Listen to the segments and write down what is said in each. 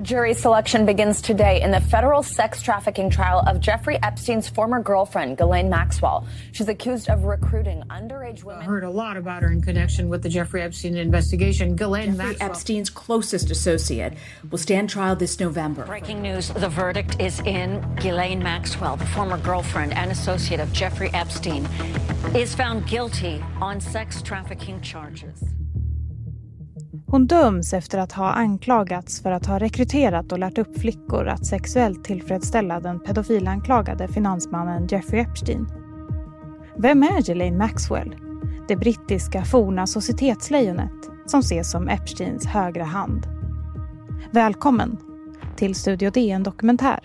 Jury selection begins today in the federal sex trafficking trial of Jeffrey Epstein's former girlfriend, Ghislaine Maxwell. She's accused of recruiting underage women. I heard a lot about her in connection with the Jeffrey Epstein investigation. Jeffrey Epstein's closest associate will stand trial this November. Breaking news, the verdict is in. Ghislaine Maxwell, the former girlfriend and associate of Jeffrey Epstein, is found guilty on sex trafficking charges. Hon döms efter att ha anklagats för att ha rekryterat och lärt upp flickor att sexuellt tillfredsställa den pedofilanklagade finansmannen Jeffrey Epstein. Vem är Ghislaine Maxwell? Det brittiska forna societetslejonet som ses som Epsteins högra hand. Välkommen till Studio DN Dokumentär.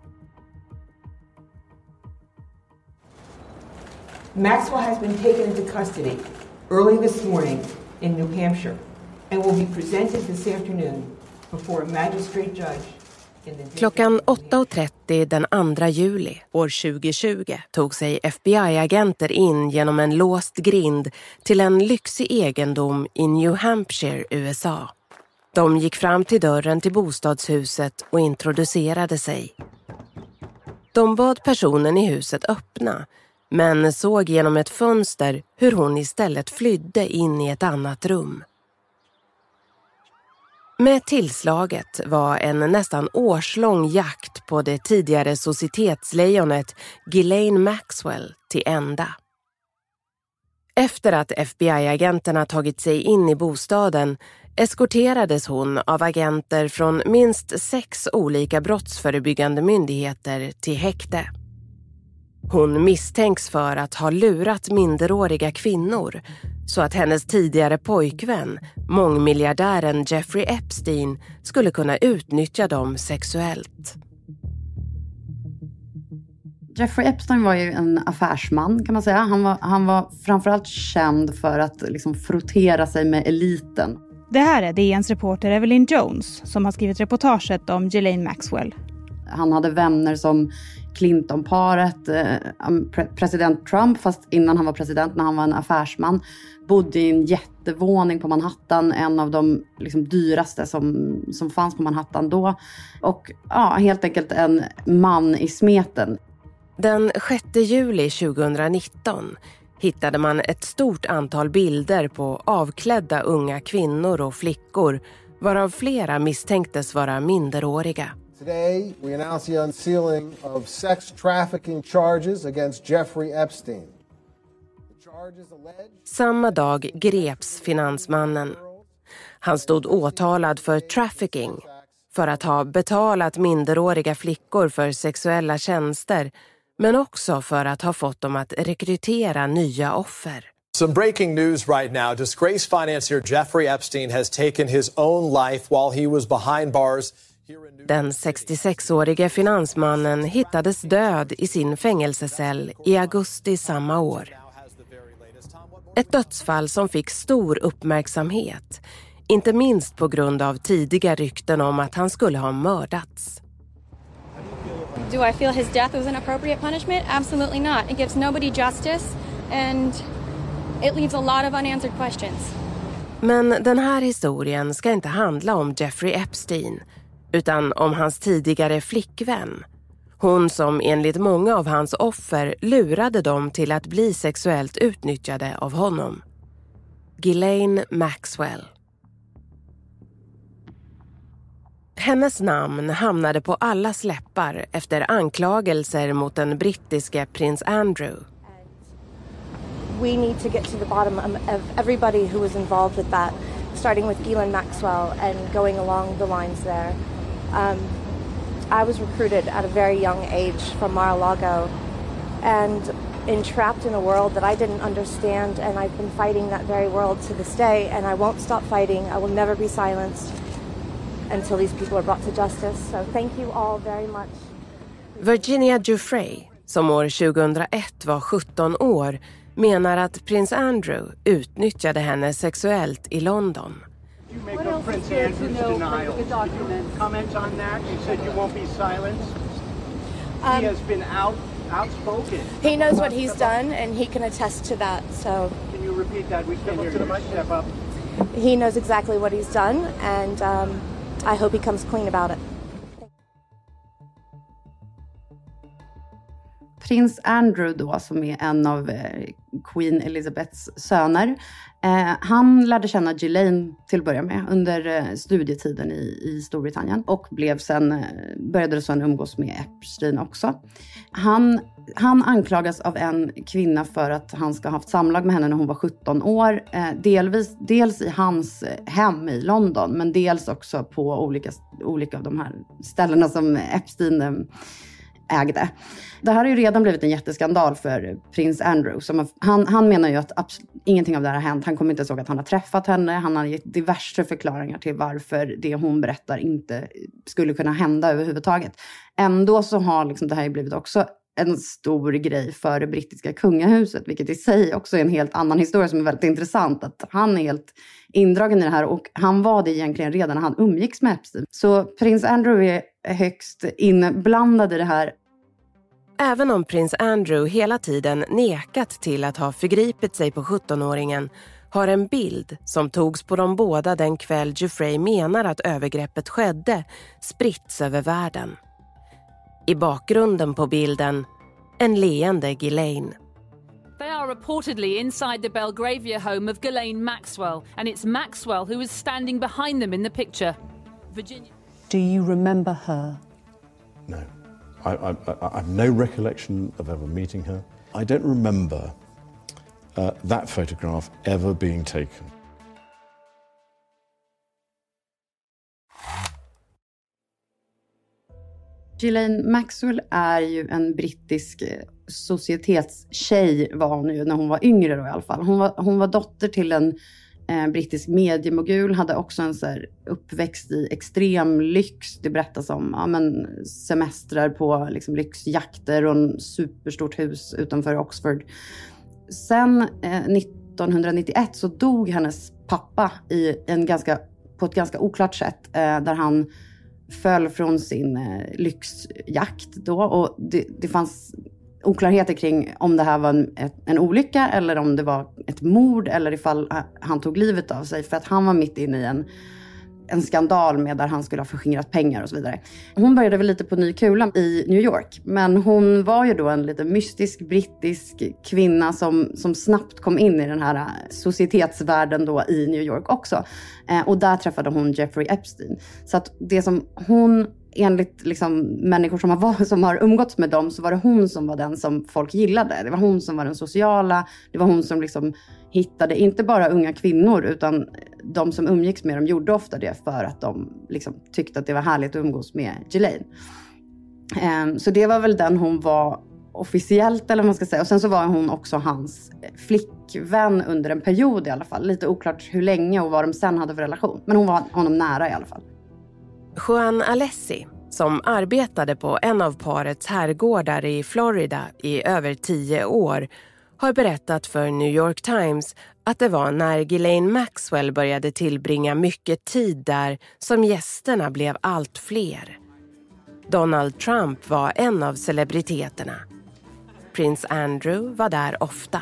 Maxwell has been taken into custody early this morning in New Hampshire and will be presented this afternoon before a magistrate judge. Klockan 8:30 den 2 juli år 2020 tog sig FBI-agenter in genom en låst grind till en lyxig egendom i New Hampshire, USA. De gick fram till dörren till bostadshuset och introducerade sig. De bad personen i huset öppna, men såg genom ett fönster hur hon istället flydde in i ett annat rum. Med tillslaget var en nästan årslång jakt på det tidigare societetslejonet Ghislaine Maxwell till ända. Efter att FBI-agenterna tagit sig in i bostaden eskorterades hon av agenter från minst 6 olika brottsförebyggande myndigheter till häkte. Hon misstänks för att ha lurat minderåriga kvinnor så att hennes tidigare pojkvän, mångmiljardären Jeffrey Epstein, skulle kunna utnyttja dem sexuellt. Jeffrey Epstein var ju en affärsman kan man säga. Han var framförallt känd för att liksom frottera sig med eliten. Det här är DNs reporter Evelyn Jones som har skrivit reportaget om Ghislaine Maxwell. Han hade vänner som Clinton-paret, president Trump, fast innan han var president, när han var en affärsman, bodde i en jättevåning på Manhattan, en av de liksom dyraste som fanns på Manhattan då. Och ja, helt enkelt en man i smeten. Den 6 juli 2019 hittade man ett stort antal bilder på avklädda unga kvinnor och flickor, varav flera misstänktes vara minderåriga. Today, we announce the unsealing of sex trafficking charges against Jeffrey Epstein. Samma dag greps finansmannen. Han stod åtalad för trafficking, för att ha betalat minderåriga flickor för sexuella tjänster, men också för att ha fått dem att rekrytera nya offer. Some breaking news right now. Disgraced financier Jeffrey Epstein has taken his own life while he was behind bars. Den 66-årige finansmannen hittades död i sin fängelsecell i augusti samma år. Ett dödsfall som fick stor uppmärksamhet, inte minst på grund av tidiga rykten om att han skulle ha mördats. Do I feel his death was an appropriate punishment? Absolutely not. It gives nobody justice and it leaves a lot of unanswered questions. Men den här historien ska inte handla om Jeffrey Epstein, utan om hans tidigare flickvän. Hon som enligt många av hans offer lurade dem till att bli sexuellt utnyttjade av honom. Ghislaine Maxwell. Hennes namn hamnade på allas läppar efter anklagelser mot den brittiske prins Andrew. We need to get to the bottom of everybody who was involved with that, starting with Ghislaine Maxwell and going along the lines there. I was recruited at a very young age from Mar-a-Lago and entrapped in a world that I didn't understand, and I've been fighting that very world to this day, and I won't stop fighting. I will never be silenced until these people are brought to justice. So thank you all very much. Virginia Giuffre, som år 2001 var 17 år, menar att prins Andrew utnyttjade henne sexuellt i London. You make of Prince Andrew's denial. Comment on that? You said you won't be silenced. He has been outspoken. He knows what he's done, and he can attest to that. So can you repeat that? We can't hear you. Step up. He knows exactly what he's done, and I hope he comes clean about it. prins Andrew då, som är en av Queen Elizabeths söner, han lärde känna Ghislaine till att börja med under studietiden i Storbritannien och började sen umgås med Epstein också. Han anklagas av en kvinna för att han ska ha haft samlag med henne när hon var 17 år. Dels i hans hem i London, men dels också på olika av de här ställena som Epstein ägde. Det här har ju redan blivit en jätteskandal för prins Andrew. Han menar ju att ingenting av det här har hänt. Han kommer inte ihåg att han har träffat henne. Han har gett diverse förklaringar till varför det hon berättar inte skulle kunna hända överhuvudtaget. Ändå så har liksom det här blivit också en stor grej för det brittiska kungahuset, vilket i sig också är en helt annan historia som är väldigt intressant. Att han är helt indragen i det här, och han var det egentligen redan när han umgicks med Epstein. Så prins Andrew är högst inblandad i det här. Även om prins Andrew hela tiden nekat till att ha förgripit sig på 17-åringen, har en bild som togs på de båda den kväll Giuffre menar att övergreppet skedde spritts över världen. I bakgrunden på bilden, en leende Ghislaine. They are reportedly inside the Belgravia home of Ghislaine Maxwell, and it's Maxwell who is standing behind them in the picture. Virginia. Do you remember her? No. I have no recollection of ever meeting her. I don't remember that photograph ever being taken. Ghislaine Maxwell är ju en brittisk societetstjej, var hon ju när hon var yngre då i alla fall. Hon var dotter till en brittisk mediemogul, hade också en så här uppväxt i extrem lyx. Det berättas om semestrar på liksom lyxjakter och en superstort hus utanför Oxford. Sen 1991 så dog hennes pappa på ett ganska oklart sätt, där han föll från sin lyxjakt då, och det fanns oklarheter kring om det här var en olycka eller om det var ett mord eller ifall han tog livet av sig, för att han var mitt inne i en skandal med där han skulle ha förskingrat pengar och så vidare. Hon började väl lite på ny kula i New York, men hon var ju då en lite mystisk brittisk kvinna som snabbt kom in i den här societetsvärlden då i New York också. Och där träffade hon Jeffrey Epstein. Så att det som hon, enligt liksom människor som har umgåtts med dem, så var det hon som var den som folk gillade. Det var hon som var den sociala. Det var hon som liksom hittade inte bara unga kvinnor, utan de som umgicks med dem gjorde ofta det för att de liksom tyckte att det var härligt att umgås med Ghislaine. Så det var väl den hon var officiellt, eller vad man ska säga. Och sen så var hon också hans flickvän under en period i alla fall. Lite oklart hur länge och vad de sen hade för relation. Men hon var honom nära i alla fall. Juan Alessi, som arbetade på en av parets herrgårdar i Florida i över 10 år, har berättat för New York Times att det var när Ghislaine Maxwell började tillbringa mycket tid där som gästerna blev allt fler. Donald Trump var en av celebriteterna. Prins Andrew var där ofta.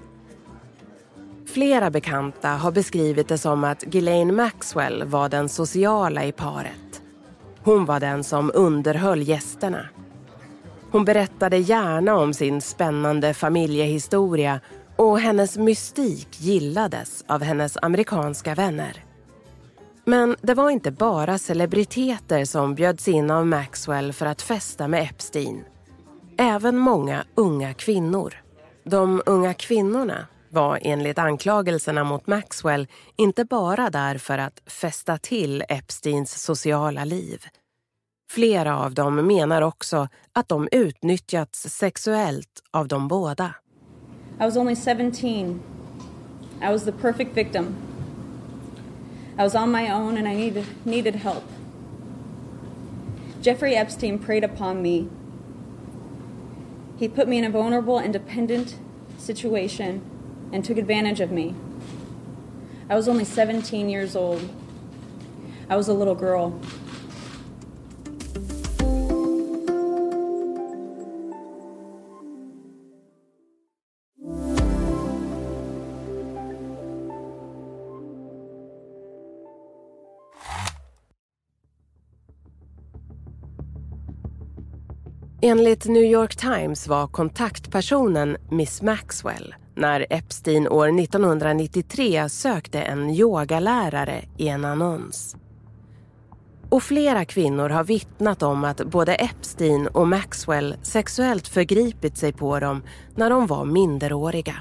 Flera bekanta har beskrivit det som att Ghislaine Maxwell var den sociala i paret. Hon var den som underhöll gästerna. Hon berättade gärna om sin spännande familjehistoria, och hennes mystik gillades av hennes amerikanska vänner. Men det var inte bara celebriteter som bjöds in av Maxwell för att festa med Epstein. Även många unga kvinnor. De unga kvinnorna var enligt anklagelserna mot Maxwell inte bara där för att festa till Epsteins sociala liv. Flera av dem menar också att de utnyttjats sexuellt av de båda. I was only 17. I was the perfect victim. I was on my own and I needed help. Jeffrey Epstein preyed upon me. He put me in a vulnerable, independent situation and took advantage of me. I was only 17 years old. I was a little girl. Enligt New York Times var kontaktpersonen Miss Maxwell när Epstein år 1993 sökte en yogalärare i en annons. Och flera kvinnor har vittnat om att både Epstein och Maxwell sexuellt förgripit sig på dem när de var minderåriga.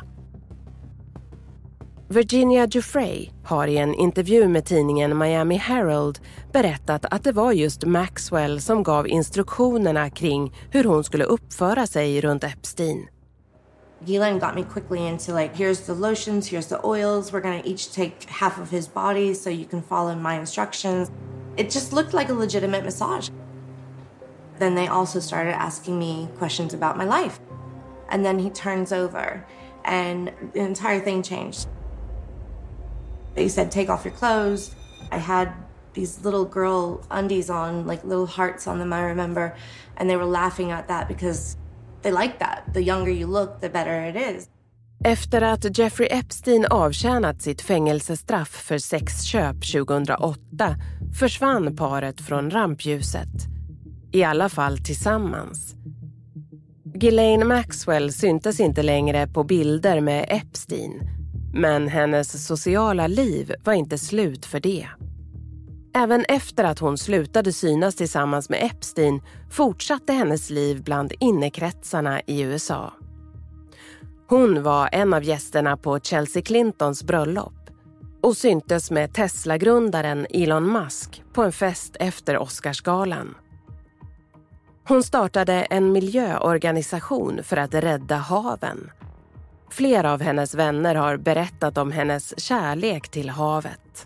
Virginia Giuffre har i en intervju med tidningen Miami Herald berättat att det var just Maxwell som gav instruktionerna kring hur hon skulle uppföra sig runt Epstein. Ghislaine got me quickly into here's the lotions, here's the oils. We're going to each take half of his body so you can follow my instructions. It just looked like a legitimate massage. Then they also started asking me questions about my life. And then he turns over and the entire thing changed. They said, take off your clothes. I had these little girl undies on, little hearts on them, I remember. And they were laughing at that because they like that. The younger you look, the better it is. Efter att Jeffrey Epstein avtjänat sitt fängelsestraff för sexköp 2008 försvann paret från rampljuset. I alla fall tillsammans. Ghislaine Maxwell syntes inte längre på bilder med Epstein, men hennes sociala liv var inte slut för det. Även efter att hon slutade synas tillsammans med Epstein fortsatte hennes liv bland innekretsarna i USA. Hon var en av gästerna på Chelsea Clintons bröllop och syntes med Tesla-grundaren Elon Musk på en fest efter Oscarsgalan. Hon startade en miljöorganisation för att rädda haven. Flera av hennes vänner har berättat om hennes kärlek till havet.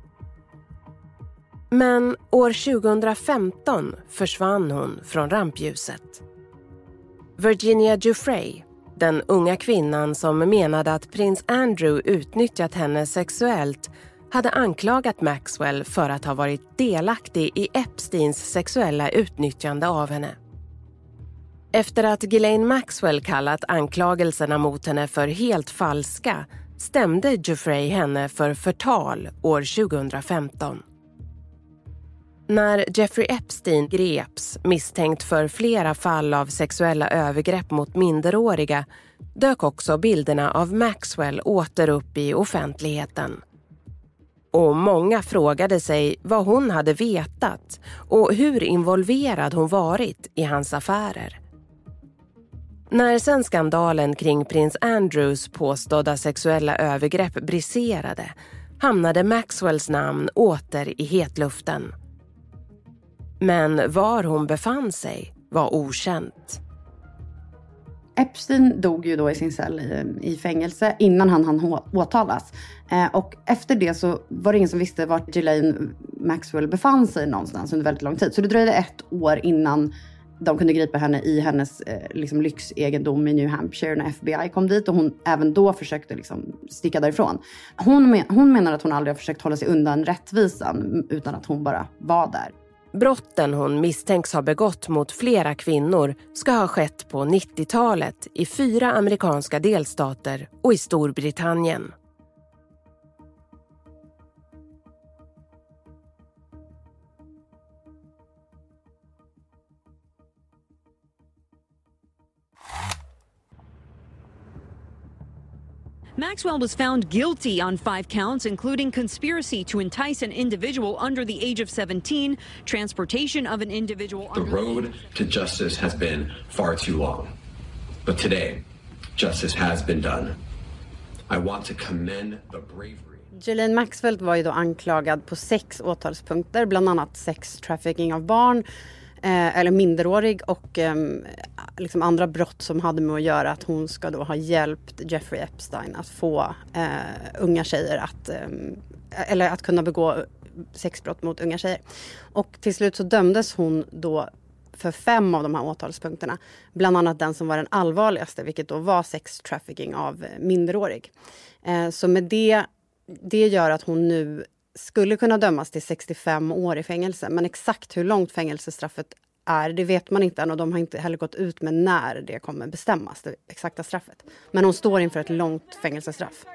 Men år 2015 försvann hon från rampljuset. Virginia Giuffre, den unga kvinnan som menade att prins Andrew utnyttjat henne sexuellt, hade anklagat Maxwell för att ha varit delaktig i Epsteins sexuella utnyttjande av henne. Efter att Ghislaine Maxwell kallat anklagelserna mot henne för helt falska stämde Giuffre henne för förtal år 2015. När Jeffrey Epstein greps misstänkt för flera fall av sexuella övergrepp mot minderåriga dök också bilderna av Maxwell åter upp i offentligheten. Och många frågade sig vad hon hade vetat och hur involverad hon varit i hans affärer. När sen skandalen kring prins Andrews påstådda sexuella övergrepp briserade hamnade Maxwells namn åter i hetluften. Men var hon befann sig var okänt. Epstein dog ju då i sin cell i fängelse innan han åtalas. Och efter det så var det ingen som visste vart Ghislaine Maxwell befann sig någonstans under väldigt lång tid. Så det dröjde 1 år innan de kunde gripa henne i hennes lyxegendom i New Hampshire när FBI kom dit. Och hon även då försökte sticka därifrån. Hon menar att hon aldrig har försökt hålla sig undan rättvisan utan att hon bara var där. Brotten hon misstänks ha begått mot flera kvinnor ska ha skett på 90-talet i 4 amerikanska delstater och i Storbritannien. Maxwell was found guilty on 5 counts, including conspiracy to entice an individual under the age of 17, transportation of an individual. The road to justice has been far too long. But today, justice has been done. I want to commend the bravery. Ghislaine Maxwell var ju då anklagad på 6 åtalspunkter, bland annat sex trafficking av barn, eller minderårig och andra brott som hade med att göra att hon ska då ha hjälpt Jeffrey Epstein att få unga tjejer att kunna begå sexbrott mot unga tjejer. Och till slut så dömdes hon då för 5 av de här åtalspunkterna. Bland annat den som var den allvarligaste, vilket då var sex trafficking av minderårig. Så med det gör att hon nu skulle kunna dömas till 65 år i fängelse. Men exakt hur långt fängelsestraffet är, det vet man inte än. Och de har inte heller gått ut med när det kommer bestämmas, det exakta straffet. Men hon står inför ett långt fängelsestraff.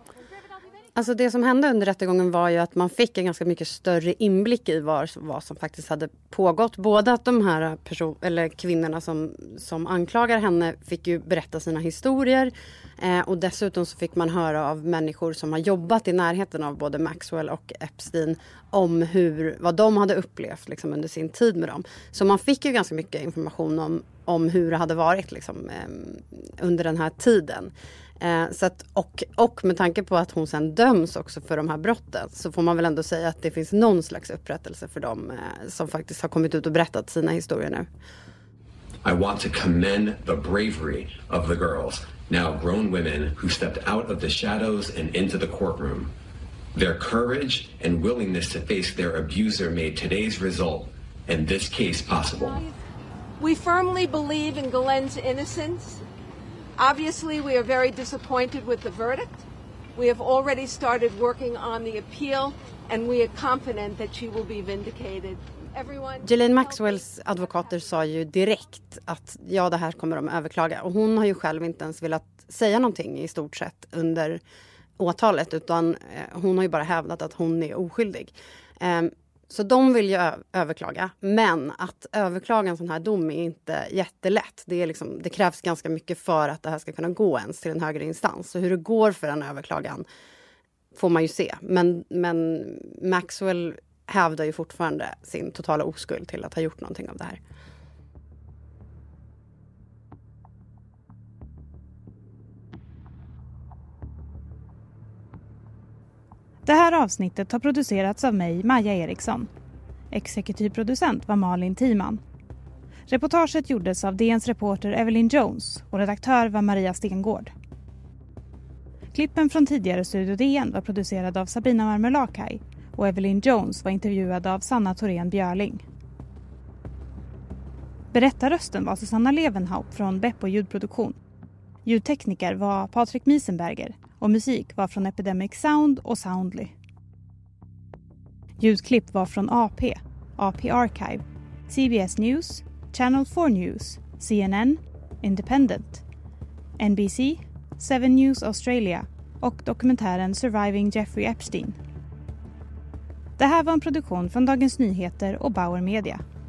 Alltså det som hände under rättegången var ju att man fick en ganska mycket större inblick i vad som faktiskt hade pågått. Både att de här kvinnorna som anklagar henne fick ju berätta sina historier. Och dessutom så fick man höra av människor som har jobbat i närheten av både Maxwell och Epstein om vad de hade upplevt liksom, under sin tid med dem. Så man fick ju ganska mycket information om hur det hade varit liksom, under den här tiden. Så att, och med tanke på att hon sen döms också för de här brotten så får man väl ändå säga att det finns någon slags upprättelse för dem som faktiskt har kommit ut och berättat sina historier nu. I want to commend the bravery of the girls, now grown women who stepped out of the shadows and into the courtroom. Their courage and willingness to face their abuser made today's result and this case possible. We firmly believe in Ghislaine's innocence. Obviously, we are very disappointed with the verdict. We have already started working on the appeal, and we are confident that she will be vindicated. Ghislaine Maxwells advokater sa ju direkt att det här kommer de överklaga. Och hon har ju själv inte ens velat säga någonting i stort sett under åtalet, utan hon har ju bara hävdat att hon är oskyldig. Så de vill ju överklaga, men att överklaga en sån här dom är inte jättelätt. Det krävs ganska mycket för att det här ska kunna gå ens till en högre instans. Så hur det går för en överklagan får man ju se. Men Maxwell hävdar ju fortfarande sin totala oskuld till att ha gjort någonting av det här. Det här avsnittet har producerats av mig, Maja Eriksson. Exekutiv producent var Malin Timan. Reportaget gjordes av DNs reporter Evelyn Jones och redaktör var Maria Stengård. Klippen från tidigare Studio DN var producerad av Sabina Marmelakai och Evelyn Jones var intervjuad av Sanna Thorén Björling. Berättarrösten var Susanna Levenhaupt från Beppo ljudproduktion. Ljudtekniker var Patrik Miesenberger och musik var från Epidemic Sound och Soundly. Ljudklipp var från AP Archive, CBS News, Channel 4 News, CNN, Independent, NBC, 7 News Australia och dokumentären Surviving Jeffrey Epstein. Det här var en produktion från Dagens Nyheter och Bauer Media.